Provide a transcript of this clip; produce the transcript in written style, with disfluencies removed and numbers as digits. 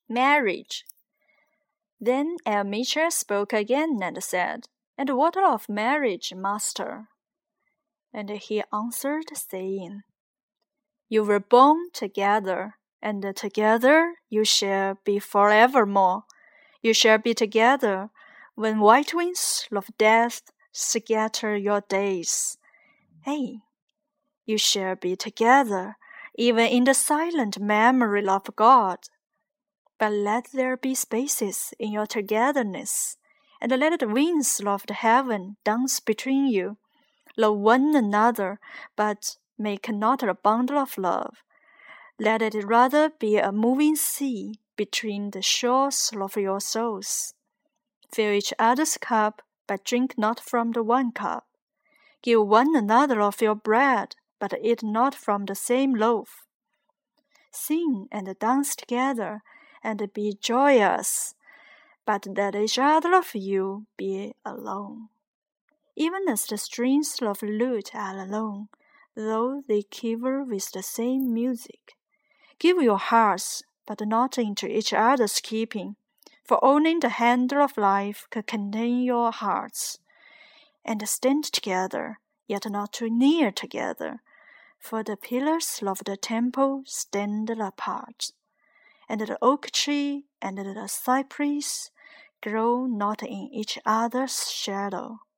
Marriage. Then Elmira spoke again and said, And what of marriage, master? And he answered, saying, You were born together, and together you shall be forevermore. You shall be together when white winds of death scatter your days. Hey, you shall be together even in the silent memory of God. But let there be spaces in your togetherness, and let the winds of the heaven dance between you. Love one another, but make not a bundle of love. Let it rather be a moving sea between the shores of your souls. Fill each other's cup, but drink not from the one cup. Give one another of your bread, but eat not from the same loaf. Sing and dance together, and be joyous, but let each other of you be alone. Even as the strings of a lute are alone, though they quiver with the same music. Give your hearts, but not into each other's keeping, for only the handle of life can contain your hearts. And stand together, yet not too near together, for the pillars of the temple stand apart, and the oak tree and the cypress grow not in each other's shadow.